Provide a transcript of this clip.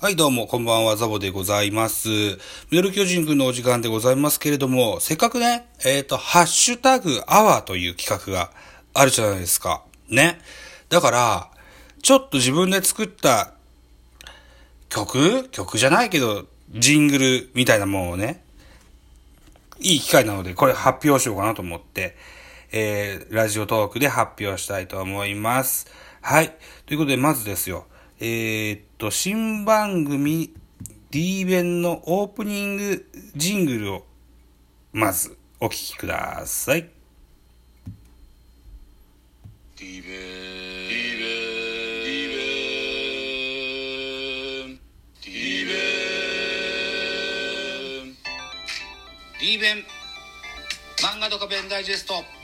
はい、どうも、こんばんは、ザボでございます。ミドル巨人くんのお時間でございますけれども、せっかくね、ハッシュタグアワーという企画があるじゃないですか。ね。だから、ちょっと自分で作った曲じゃないけど、ジングルみたいなものをね、いい機会なので、これ発表しようかなと思って、ラジオトークで発表したいと思います。はい。ということで、まずですよ。新番組 D 弁のオープニングジングルを、まず、お聞きください。 D 弁 D 弁漫画ドカ弁ダイジェスト